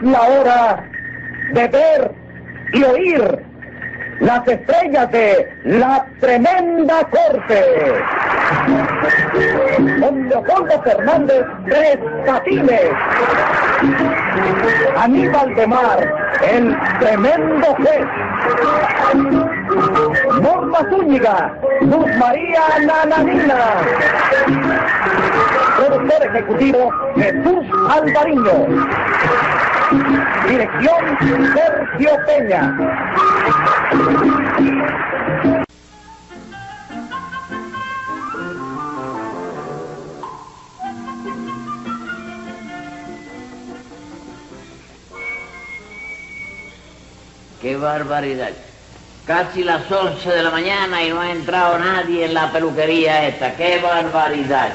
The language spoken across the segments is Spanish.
la hora de ver y oír las estrellas de la tremenda corte. Don Leopoldo Fernández Tres Patines, Aníbal de Mar, el tremendo juez, Norma Zúñiga, Luz María Nananina, productor ejecutivo Jesús Alvariño, dirección Sergio Peña. ¡Qué barbaridad! Casi las 11 de la mañana y no ha entrado nadie en la peluquería esta. ¡Qué barbaridad!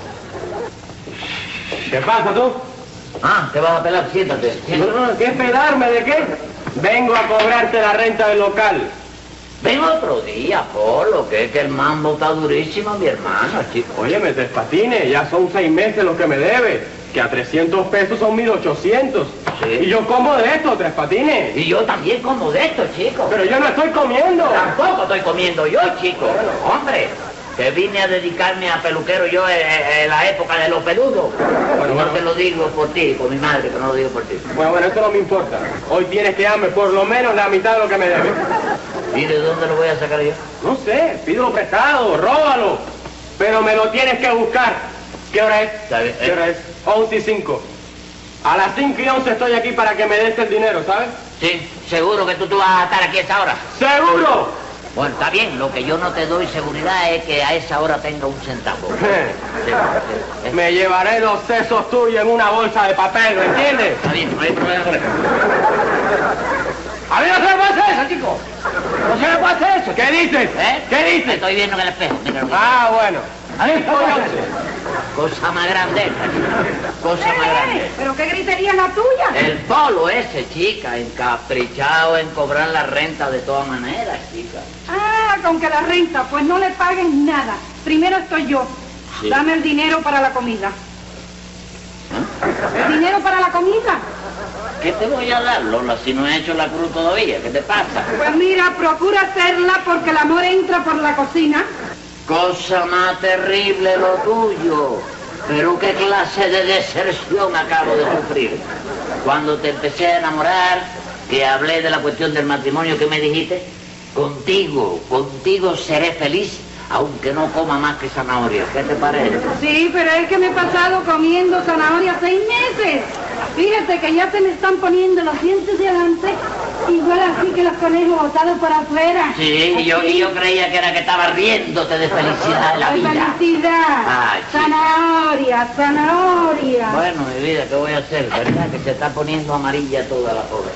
¿Qué pasa tú? Ah, te vas a pelar, siéntate. No, ¿qué pelarme de qué? Vengo a cobrarte la renta del local. Ven otro día, Polo, que es que el mambo está durísimo, mi hermano, chico. Óyeme, Tres Patines, ya son 6 meses lo que me debe, que a 300 pesos son 1.800. Sí. Y yo como de esto, Tres Patines. Y yo también como de esto, chico. Pero yo no estoy comiendo. Tampoco estoy comiendo yo, chico. Hombre, que vine a dedicarme a peluquero yo en la época de los peludos. Bueno, no te lo digo por ti, por mi madre, que no lo digo por ti. Bueno, eso no me importa. Hoy tienes que darme por lo menos la mitad de lo que me debes. ¿Y de dónde lo voy a sacar yo? No sé, pídelo prestado, róbalo. Pero me lo tienes que buscar. ¿Qué hora es? ¿Sabe? ¿Qué hora es? 11:05. A las 5:11 estoy aquí para que me des el dinero, ¿sabes? Sí, seguro que tú vas a estar aquí a esa hora. ¡Seguro! Bueno, está bien, lo que yo no te doy seguridad es que a esa hora tenga un centavo. Sí. Me llevaré los sesos tuyos en una bolsa de papel, ¿me entiendes? Está bien, no hay problema con eso. A mí no se me puede hacer eso, chico. No se me puede hacer eso. ¿Qué dices? ¿Qué Me dices? estoy viendo en el espejo, mira. Ah, bueno. A mí no me hace. Cosa más grande esta, chica. Cosa más grande. ¿Pero qué gritería es la tuya? El Polo ese, chica, encaprichado en cobrar la renta de todas maneras, chica. Ah, con que la renta, pues no le paguen nada. Primero estoy yo. Sí. Dame el dinero para la comida. ¿El dinero para la comida? ¿Qué te voy a dar, Lola, si no he hecho la cruz todavía? ¿Qué te pasa? Pues mira, procura hacerla porque el amor entra por la cocina. Cosa más terrible lo tuyo. Pero qué clase de deserción acabo de sufrir. Cuando te empecé a enamorar, que hablé de la cuestión del matrimonio, ¿qué me dijiste? Contigo seré feliz, aunque no coma más que zanahoria. ¿Qué te parece? Sí, pero es que me he pasado comiendo zanahoria 6 meses. Fíjate que ya se me están poniendo los dientes de adelante, igual así que los conejos botados por afuera. Sí, y yo creía que era que estaba riéndote de felicidad de la ¡Ay, vida. felicidad! Ay, sí. Zanahoria. Bueno, mi vida, ¿qué voy a hacer? ¿Verdad? Que se está poniendo amarilla toda la pobre.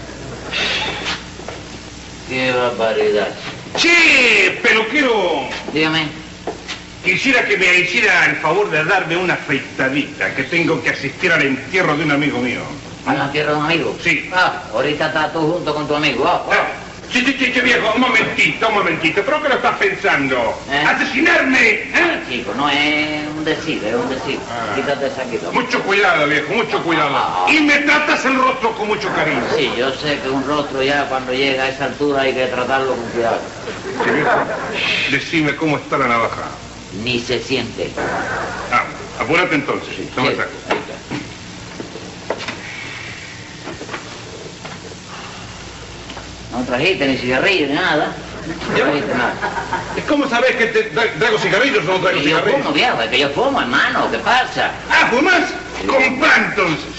¡Qué barbaridad! ¡Che, peluquero! Dígame. Quisiera que me hiciera el favor de darme una afeitadita, que tengo que asistir al entierro de un amigo mío. ¿A la tierra de un amigo? Sí. Ah, ahorita estás tú junto con tu amigo. Sí, viejo, un momentito. ¿Pero qué lo estás pensando? ¿Eh? ¿Asesinarme? Chico, no es un decir, es un decir. Ah. Quítate esa aquí. Mucho cuidado, viejo, mucho cuidado. Y me tratas el rostro con mucho cariño. Sí, yo sé que un rostro ya cuando llega a esa altura hay que tratarlo con cuidado. Sí, viejo. Decime cómo está la navaja. Ni se siente. Ah, apúrate entonces. No me Sí, saco. ahí está. No trajiste ni cigarrillo ni nada. No trajiste nada. ¿Cómo sabés que traigo cigarrillos o no traigo Y yo cigarrillos? fumo, viejo, es que yo fumo, hermano. ¿Qué pasa? Ah, ¿fumás? Comprá entonces.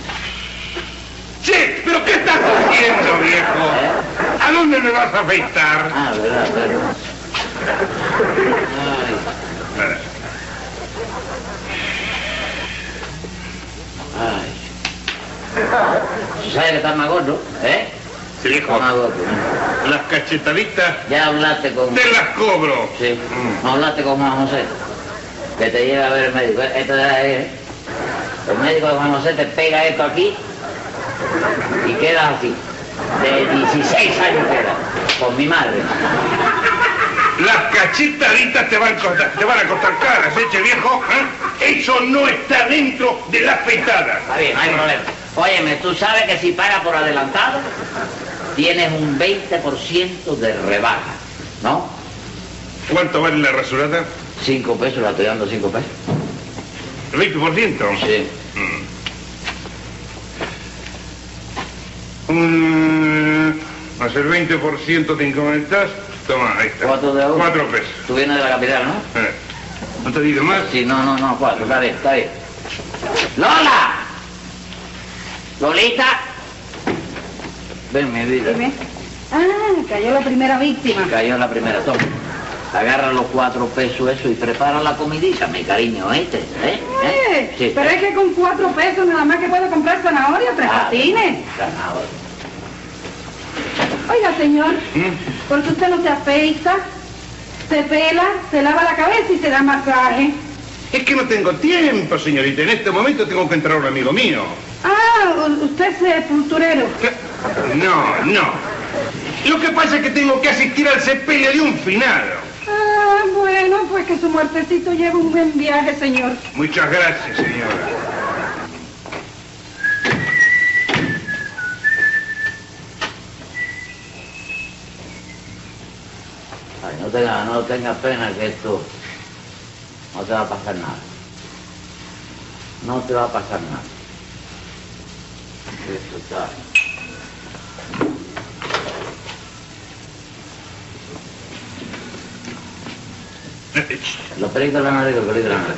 Che, ¿pero qué estás haciendo, viejo? ¿A dónde me vas a afeitar? Ah, verdad. Ay. ¿Sabes que estás más gordo? Sí, viejo. Estás más gordo. Las cachetaditas Ya hablaste con... te las cobro. Sí. No hablaste con Juan José. Que te lleva a ver el médico. Esto es... El médico de Juan José te pega esto aquí y quedas así. De 16 años queda. Con mi madre. Las cachetaditas te van a costar caras, che, viejo. ¿Eh? Eso no está dentro de la afeitada. Está bien, no hay problema. Óyeme, tú sabes que si pagas por adelantado, tienes un 20% de rebaja, ¿no? ¿Cuánto vale la rasurada? 5 pesos, la estoy dando 5 pesos. ¿El 20%? Sí. Más el 20% te incrementas. Toma, ahí está. 4 de oro. 4 pesos. Tú vienes de la capital, ¿no? ¿No te digo más? Sí, no, 4, está bien, está bien. ¡Lola! ¡Lolita! Ven, mi vida. Dime. Ah, cayó la primera víctima. Cayó la primera, toma. Agarra los 4 pesos eso y prepara la comidita, mi cariño, ¿oíste? Sí. Pero es que con 4 pesos nada más que puedo comprar zanahoria, 3 patines. Zanahoria. Oiga, señor, ¿por qué usted no se afeita, se pela, se lava la cabeza y se da masaje? Es que no tengo tiempo, señorita. En este momento tengo que entrar a un amigo mío. Ah, usted es sepulturero. No. Lo que pasa es que tengo que asistir al sepelio de un finado. Ah, bueno, pues que su muertecito lleve un buen viaje, señor. Muchas gracias, señora. Ay, no tenga pena que esto no te va a pasar nada. No te va a pasar nada. Esto está... Los peligros de la nariz, los peligros de la nariz.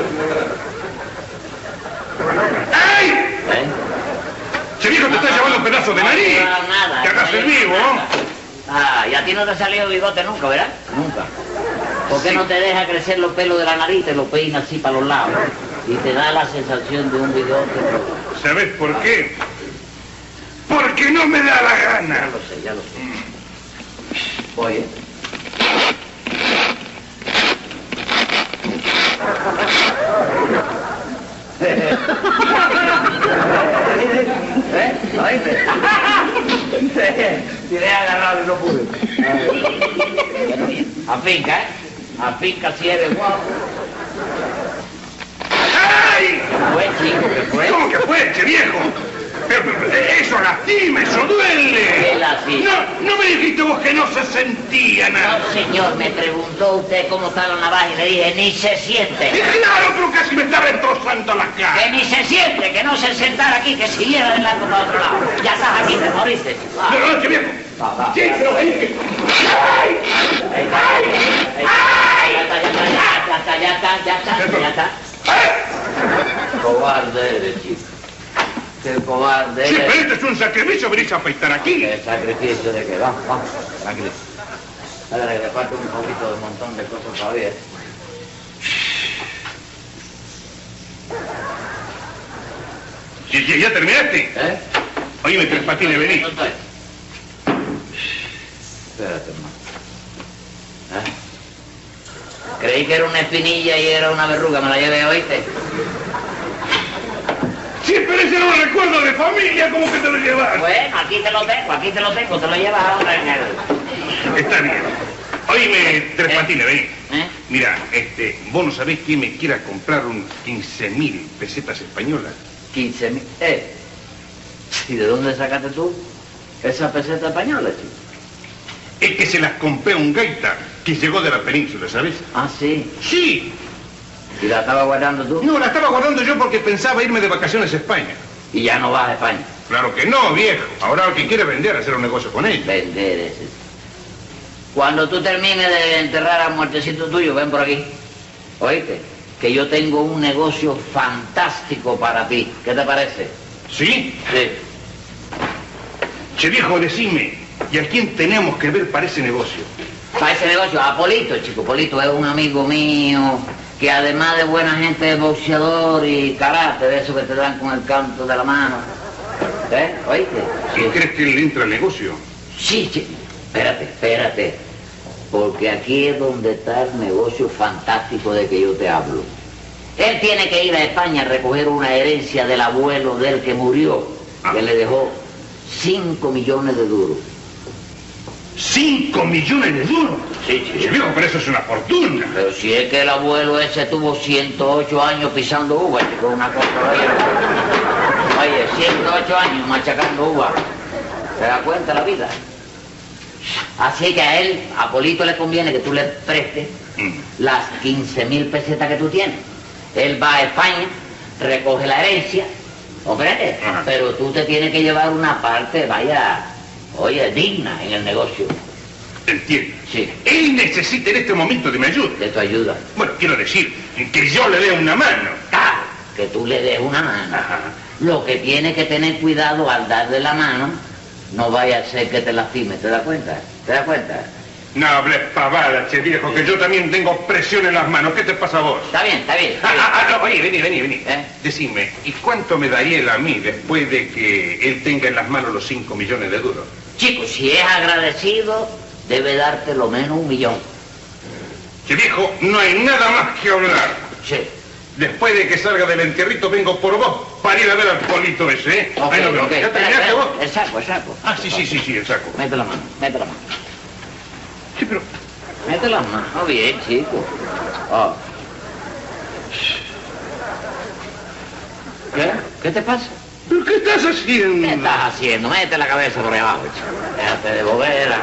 ¡Ay! ¿Eh? ¡Ese viejo te está llevando un pedazo de nariz! No, nada. ¡Te hagas el vivo! Ah, y a ti no te ha salido bigote nunca, ¿verdad? Nunca. ¿Por qué no te deja crecer los pelos de la nariz, te los peinas así para los lados? Y te da la sensación de un bigote. ¿Sabes por qué? Porque no me da la gana. Ya lo sé. Oye. ¿Oíste? Tiré agarrado y no pude. Afinca, ¿eh? Afinca si eres guapo. ¡Ay! ¿Fue, chico? ¿Qué fue? ¿Cómo que fue, che viejo? Eso lastima, eso duele. ¿Qué lastima? No me dijiste vos que no se sentía nada. No, señor, me preguntó usted cómo está la navaja y le dije, ni se siente. Claro, pero casi me está destrozando la Que cara. ni se siente, que no se sentara aquí, que siguiera de largo para otro lado. Ya estás aquí, te moriste. Va. No, che viejo. Va. Sí, pero ven que... ¡Ay! Ya está. Cobarde eres, chico. Qué cobarde Sí, eres. pero este es un sacrificio, venís a afeitar aquí. ¿Qué sacrificio de qué? Vamos, tranquilo. Ahora que le falta un poquito de un montón de cosas todavía. Sí, ¿ya terminaste? ¿Eh? Oye, Tres Patines, vení. No estoy. Espérate, hermano. ¿Eh? Creí que era una espinilla y era una verruga, me la llevé, ¿oíste? Sí, pero ese no lo recuerdo de familia, ¿cómo que te lo llevas? Bueno, aquí te lo tengo, te lo llevas ahora en el... Está bien. Oíme, Tres Patines, vení. ¿Eh? Mira, vos no sabés quién me quiera comprar un 15.000 pesetas españolas. 15.000. ¿Y de dónde sacaste tú esa peseta española, chico? Es que se las compré a un gaita que llegó de la península, ¿sabes? Ah, sí. Sí. ¿Y la estaba guardando tú? No, la estaba guardando yo porque pensaba irme de vacaciones a España. Y ya no vas a España. Claro que no, viejo. Ahora lo que quiere vender, hacer un negocio con ella. Vender ese. Cuando tú termines de enterrar al muertecito tuyo, ven por aquí. ¿Oíste? Que yo tengo un negocio fantástico para ti. ¿Qué te parece? ¿Sí? Sí. Che, viejo, decime, ¿y a quién tenemos que ver para ese negocio? Para ese negocio, a Polito, chico. Polito es un amigo mío que además de buena gente es boxeador y karate, de eso que te dan con el canto de la mano. ¿Eh? ¿Oíste? ¿Y crees que él entra al negocio? Sí, sí. Espérate. Porque aquí es donde está el negocio fantástico de que yo te hablo. Él tiene que ir a España a recoger una herencia del abuelo del que murió, que le dejó 5 millones de duros. ¿5 millones de duros? Sí, Che, viejo, pero eso es una fortuna. Pero si es que el abuelo ese tuvo 108 años pisando uvas, chico, una cosa. Oye, 8 años machacando uva. ¿Te das cuenta la vida? Así que a él, a Polito, le conviene que tú le prestes las 15.000 pesetas que tú tienes. Él va a España, recoge la herencia, ¿comprende? Pero tú te tienes que llevar una parte, vaya, oye, digna en el negocio. Entiendo. Sí. Él necesita en este momento de mi ayuda. De tu ayuda. Bueno, quiero decir, que yo le dé una mano. Claro, que tú le des una mano. Ajá. Lo que tienes que tener cuidado al darle la mano, no vaya a ser que te lastime, ¿te das cuenta? ¿Te das cuenta? No hables pavadas, che viejo, que yo también tengo presión en las manos. ¿Qué te pasa a vos? Está bien, está bien. No, oye, vení. ¿Eh? Decime, ¿y cuánto me daría él a mí después de que él tenga en las manos los 5 millones de duros? Chico, si es agradecido, debe darte lo menos 1 millón. Che viejo, no hay nada más que hablar. Sí. Después de que salga del entierrito vengo por vos para ir a ver al Polito ese, ¿eh? Ok, Ahí nos vemos. ok. ¿Ya Espera, terminaste vos? El saco. Ah, sí, el saco. Mete la mano. Sí, pero... Mete la mano bien, chico. Oh. ¿Qué? ¿Qué te pasa? ¿Pero qué estás haciendo? ¿Qué estás haciendo? Mete la cabeza por ahí abajo, chico. Déjate de bobera.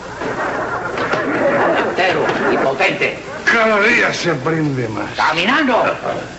Entero y potente. Cada día se aprende más. ¡Caminando!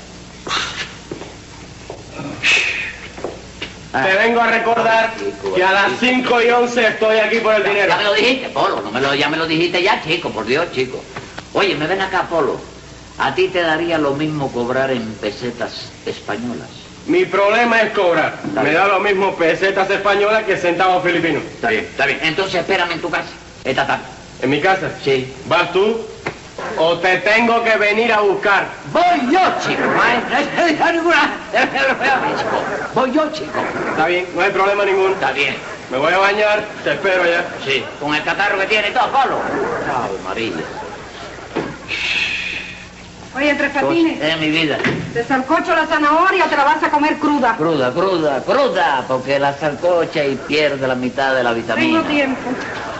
Te vengo a recordar que a las 5:11 estoy aquí por el dinero. Ya me lo dijiste, Polo. Ya me lo dijiste ya, chico. Por Dios, chico. Oye, me ven acá, Polo. A ti te daría lo mismo cobrar en pesetas españolas. Mi problema es cobrar. Me da lo mismo pesetas españolas que centavos filipinos. Está bien, está bien. Entonces espérame en tu casa. Esta tarde. ¿En mi casa? Sí. ¿Vas tú? ¿O te tengo que venir a buscar? Voy yo, chico. Voy yo, chico. Está bien, no hay problema ninguno. Está bien. Me voy a bañar, te espero allá. Sí. Con el catarro que tiene y todo, Polo. Ave María. Oye, Tres Patines, Es mi vida. te salcocho la zanahoria o te la vas a comer cruda. Cruda, porque la salcocha y pierde la mitad de la vitamina. Tengo tiempo.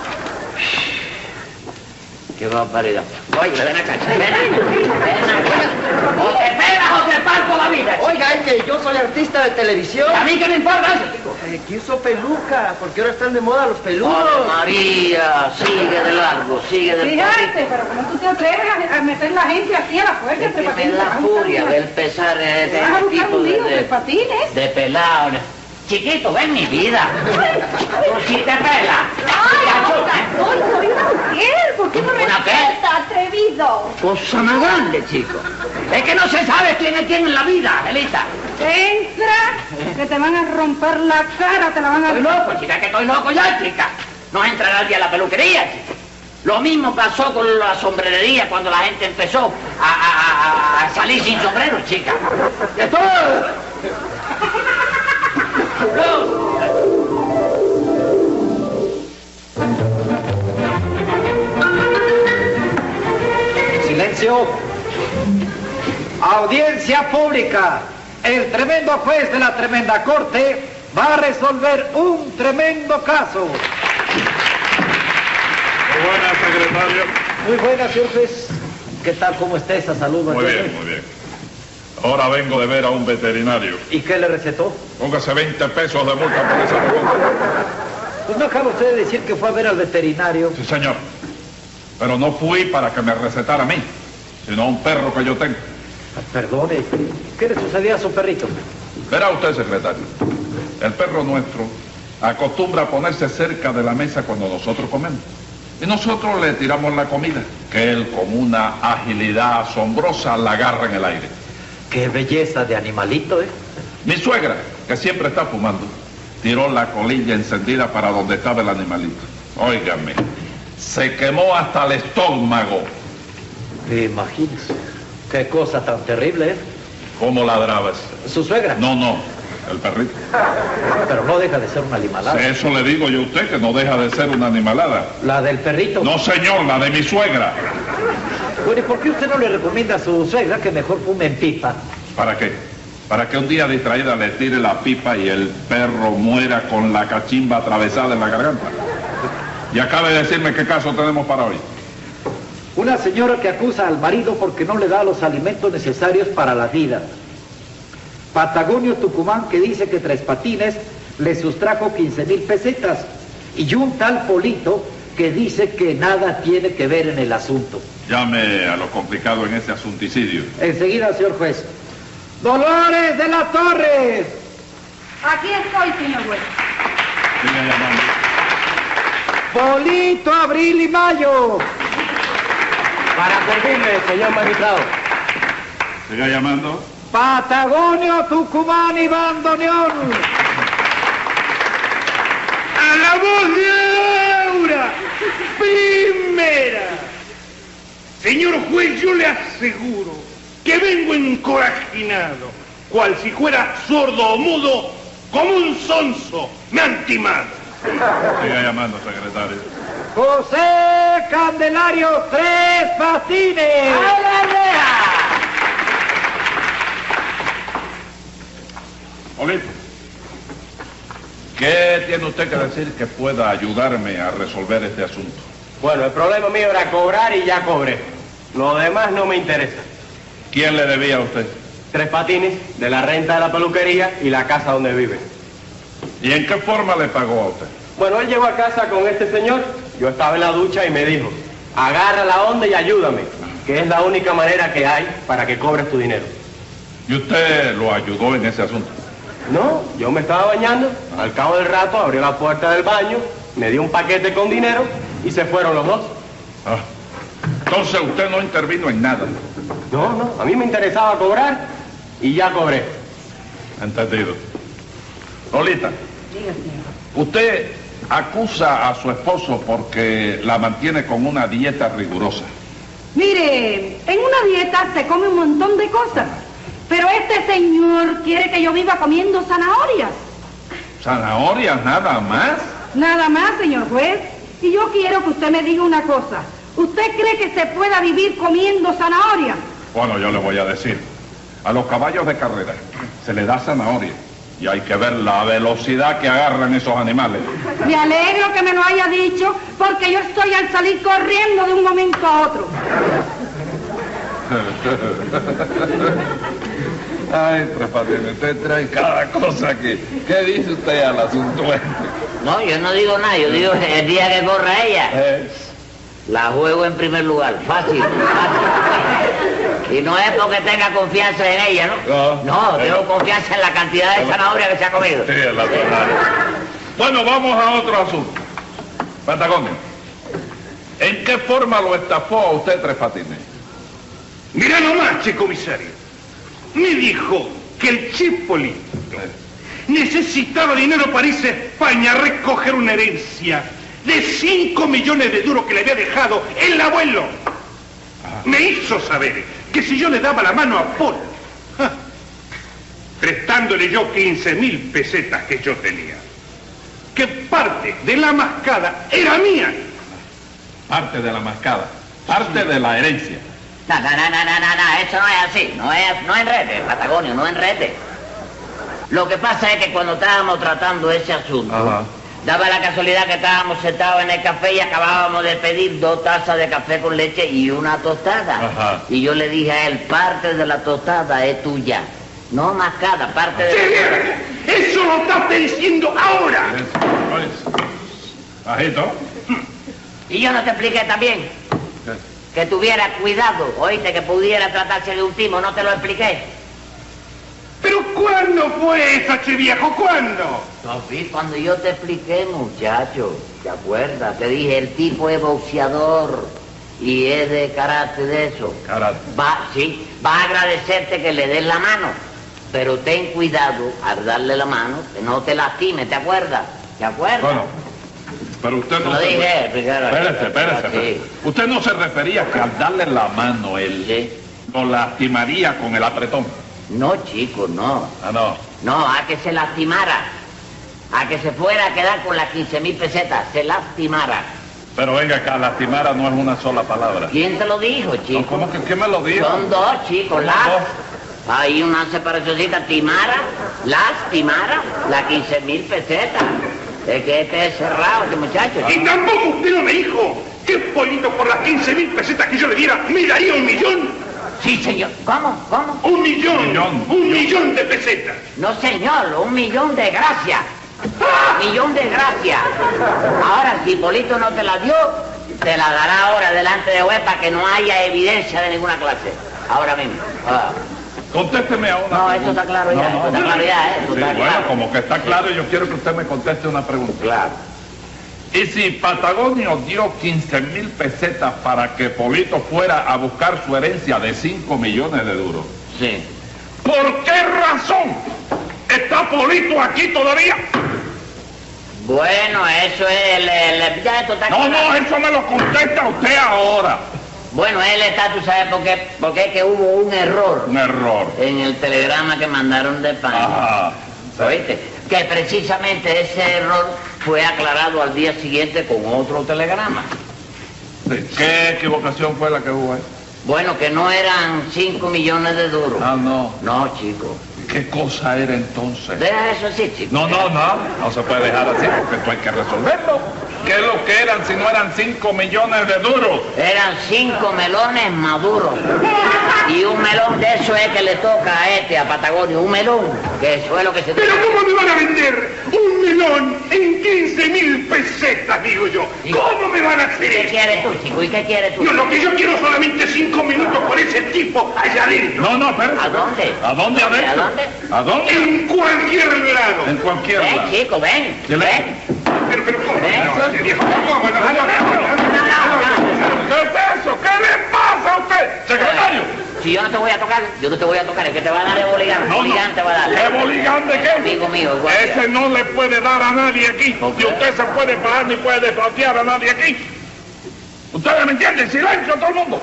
Qué barbaridad. Oye, ven acá. Ven acá. O te pegas o te parto la vida. Oiga, es que yo soy artista de televisión. ¿A mí qué me importa eso, chico? Que uso peluca, porque ahora están de moda los peludos. ¡Ave María! Sigue de largo, sigue de Fíjate, pero ¿cómo tú te atreves a meter la gente aquí a la fuerza, Es Tres que me Patines? da furia ver pesar Te vas a buscar tipo un lío, Tres Patines. de pelado. Chiquito, ven mi vida. Tú sí te pelas. ¡Ay, soy una mujer! ¿Por qué no me ¿Una qué? respeta, atrevido? Cosa más grande, chico. Es que no se sabe quién es quién en la vida, Elita. Entra, que te van a romper la cara, te la van a... Estoy loco, chica, que estoy loco ya, chica. No entra nadie a la peluquería, chica. Lo mismo pasó con la sombrerería cuando la gente empezó a salir sin sombrero, chica. De todo. No. Silencio. Audiencia pública. El tremendo juez de la tremenda corte va a resolver un tremendo caso. Muy buenas, secretario. Muy buenas, señor juez. ¿Qué tal? ¿Cómo está esa salud? Muy bien. Ahora vengo de ver a un veterinario. ¿Y qué le recetó? Póngase 20 pesos de multa por esa pregunta. Pues no acaba usted de decir que fue a ver al veterinario. Sí, señor. Pero no fui para que me recetara a mí, sino a un perro que yo tengo. Perdone, ¿qué le sucedía a su perrito? Verá usted, secretario. El perro nuestro acostumbra a ponerse cerca de la mesa cuando nosotros comemos. Y nosotros le tiramos la comida, que él con una agilidad asombrosa la agarra en el aire. Qué belleza de animalito, ¿eh? Mi suegra, que siempre está fumando, tiró la colilla encendida para donde estaba el animalito. Óigame, se quemó hasta el estómago. Imagínese. Qué cosa tan terrible, ¿eh? ¿Cómo ladrabas? ¿Su suegra? No, el perrito. Pero no deja de ser una animalada. Eso le digo yo a usted, que no deja de ser una animalada. ¿La del perrito? No, señor, la de mi suegra. Bueno, ¿y por qué usted no le recomienda a su suegra que mejor fume en pipa? ¿Para qué? Para que un día distraída le tire la pipa y el perro muera con la cachimba atravesada en la garganta. Y acabe de decirme qué caso tenemos para hoy. Una señora que acusa al marido porque no le da los alimentos necesarios para la vida. Patagonio Tucumán, que dice que Tres Patines le sustrajo 15,000 pesetas, y un tal Polito que dice que nada tiene que ver en el asunto. Llame a lo complicado en ese asunticidio. Enseguida, señor juez. ¡Dolores de la Torres! Aquí estoy, señor juez. Siga llamando. Polito, Abril y Mayo. Para servirle, señor magistrado. Siga llamando. Patagonio, Tucumán y Bandoneón. ¡A la voz de Aura! ¡Primera! Señor juez, yo le aseguro que vengo encorajinado, cual si fuera sordo o mudo, como un sonso. Me han timado. Siga llamando, secretario. José Candelario Tres Patines. ¡A la reja! Polito, ¿qué tiene usted que decir que pueda ayudarme a resolver este asunto? Bueno, el problema mío era cobrar y ya cobré. Lo demás no me interesa. ¿Quién le debía a usted? Tres Patines, de la renta de la peluquería y la casa donde vive. ¿Y en qué forma le pagó a usted? Bueno, él llegó a casa con este señor, yo estaba en la ducha y me dijo, agarra la onda y ayúdame, que es la única manera que hay para que cobres tu dinero. ¿Y usted lo ayudó en ese asunto? No, yo me estaba bañando, al cabo del rato abrió la puerta del baño, me dio un paquete con dinero y se fueron los dos. Ah, entonces usted no intervino en nada. No, a mí me interesaba cobrar y ya cobré. Entendido. Lolita, Diga, señor. usted acusa a su esposo porque la mantiene con una dieta rigurosa. Mire, en una dieta se come un montón de cosas, pero este señor quiere que yo viva comiendo zanahorias. ¿Zanahorias nada más? Nada más, señor juez. Y yo quiero que usted me diga una cosa. ¿Usted cree que se pueda vivir comiendo zanahorias? Bueno, yo le voy a decir. A los caballos de carrera se les da zanahoria y hay que ver la velocidad que agarran esos animales. Me alegro que me lo haya dicho, porque yo estoy al salir corriendo de un momento a otro. Ay, Tres Patines, usted trae cada cosa aquí. ¿Qué dice usted al asunto este? No, yo no digo nada, yo digo el día que corra ella, la juego en primer lugar, fácil, fácil. Y no es porque tenga confianza en ella, ¿no? No, tengo confianza en la cantidad de zanahoria que se ha comido. Sí, es la verdad. Bueno, vamos a otro asunto. Patagonio, ¿en qué forma lo estafó a usted Tres Patines? Mirá nomás, che comisario. Me dijo que el Chipolito necesitaba dinero para irse a España a recoger una herencia de 5 millones de duros que le había dejado el abuelo. Me hizo saber que si yo le daba la mano a Paul, prestándole yo 15,000 pesetas que yo tenía, que parte de la mascada era mía. Parte de la mascada, parte de la herencia. No, eso no es así, no enrede, Patagonio, no enrede. Lo que pasa es que cuando estábamos tratando ese asunto, daba la casualidad que estábamos sentados en el café y acabábamos de pedir 2 tazas de café con leche y una tostada. Y yo le dije a él, parte de la tostada es tuya, no mascada, parte de... ¡Sí! ¡Eso lo estás diciendo ahora! Bajito. Y yo no te expliqué también que tuviera cuidado, oíste, que pudiera tratarse de un timo, no te lo expliqué. ¿Pero cuándo fue eso, che viejo? ¿Cuándo? Sofí, cuando yo te expliqué, muchacho, ¿te acuerdas? Te dije, el tipo es boxeador y es de carácter de eso. Carácter. Va a agradecerte que le des la mano, pero ten cuidado al darle la mano, que no te lastime, ¿te acuerdas? ¿Te acuerdas? Bueno, pero usted no Lo se... dije, Espérese. Sí. Usted no se refería que al darle la mano él lo lastimaría con el apretón. No, chico, no. Ah, no. No, a que se lastimara. A que se fuera a quedar con las 15,000 pesetas. Se lastimara. Pero venga acá, lastimara no es una sola palabra. ¿Quién te lo dijo, chico? No, ¿cómo que quién me lo dijo? Son 2, chicos. Hay una separacióncita. Timara, lastimara, las 15,000 pesetas. Es que este es cerrado, este muchacho. Y tampoco usted no me dijo que Polito por las 15,000 pesetas que yo le diera me daría 1 millón. Sí, señor. ¿Cómo? ¿Cómo? Un millón de pesetas. No, señor, 1.000.000 de gracias. 1.000.000 de gracias. Ahora, si Hipólito no te la dio, te la dará ahora delante de juez para que no haya evidencia de ninguna clase. Ahora mismo. Contésteme a una No, pregunta. eso está claro ya, eso está claro ya, eso Sí, está bueno, claro. como que está claro, yo quiero que usted me conteste una pregunta. Claro. ¿Y si Patagonio dio 15.000 pesetas para que Polito fuera a buscar su herencia de 5 millones de duros? Sí. ¿Por qué razón está Polito aquí todavía? Bueno, eso es ya esto está No, claro. no, eso me lo contesta usted ahora. Bueno, él está, tú sabes por qué, porque es que hubo un error Un error. en el telegrama que mandaron de España. Ajá. ¿Oíste? Que precisamente ese error fue aclarado al día siguiente con otro telegrama. Sí. ¿Qué equivocación fue la que hubo ahí? Bueno, que no eran 5 millones de duros. Ah, no. No, chico. ¿Qué cosa era entonces? Deja eso así, chico. No se puede dejar así porque esto hay que resolverlo. ¿Qué es lo que eran si no eran 5 millones de duros? Eran 5 melones maduros. Y un melón de eso es que le toca a a Patagonio, un melón, que eso es lo que se ¿Pero cómo me van a vender un melón en 15.000 pesetas, digo yo? ¿Cómo me van a hacer ¿Qué eso? quieres tú, chico? ¿Y qué quieres tú? No, lo que yo quiero solamente 5 minutos con ese tipo allá adentro. No, espérate. ¿A dónde? ¿A dónde adentro? ¿A dónde? ¿A dónde? En cualquier lado. En cualquier Ven, lado. chico, ven. Silencio. Ven. Pero, ¿cómo? ¿Eh? No, este viejo, ¿cómo? No, ¿Qué es eso? ¿Qué le pasa a usted, secretario? Si yo no te voy a tocar, es que te va a dar el boligán. Boligán te va a dar. ¿Qué boligán de qué? Amigo mío, igual. Ese no le puede dar a nadie aquí. ¿Por qué? Y usted se puede parar ni puede desflatear a nadie aquí. ¿Ustedes me entienden? Silencio todo el mundo.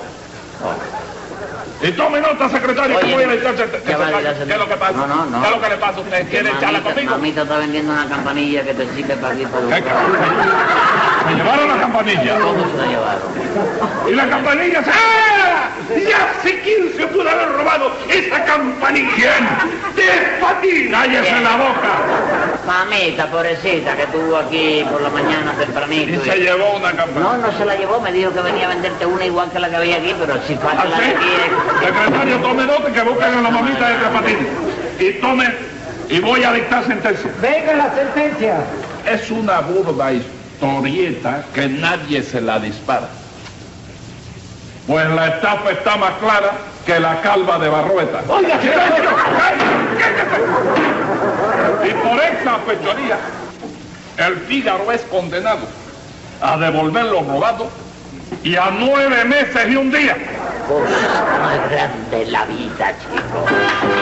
Y tome nota, secretario, Oye, que voy a dictar ¿Qué ¿qué va a dictar, es lo que pasa? No. ¿Qué es lo que le pasa a usted? ¿Quiere echarla conmigo? Mamita está vendiendo una campanilla que te sirve para aquí por ¿Qué? ¿Me llevaron la campanilla? ¿Cómo se la llevaron? ¿Y la campanilla se... ¡Ah! Ya sé quién se pudo haber robado esa campanilla. ¿Quién? ¡Despatín! ¡Cállese la boca! Mamita, pobrecita, que estuvo aquí por la mañana tempranito. Y se llevó una campanilla. No se la llevó, me dijo que venía a venderte una igual que la que había aquí, pero si falta la de ¿Así? aquí Secretario, tome nota que busquen a la mamita de Tres Patines. Y tome, y voy a dictar sentencia. Venga la sentencia. Es una burda historieta que nadie se la dispara. Pues la estafa está más clara que la calva de Barrueta. Oiga, ¡Silencio! ¡Cállese! Y por esa fechoría, el Fígaro es condenado a devolver lo robado y a 9 meses y un día. cosa más grande en la vida, chico.